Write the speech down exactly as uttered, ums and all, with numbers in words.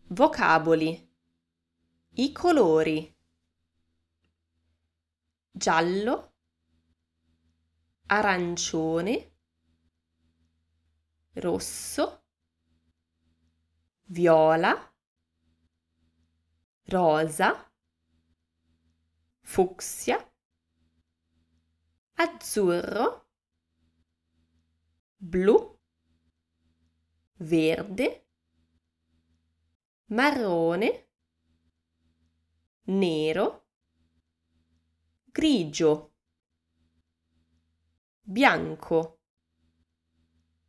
Vocaboli. I colori: giallo, arancione, rosso, viola, rosa, fucsia, azzurro, blu, verde, marrone, nero, grigio, bianco.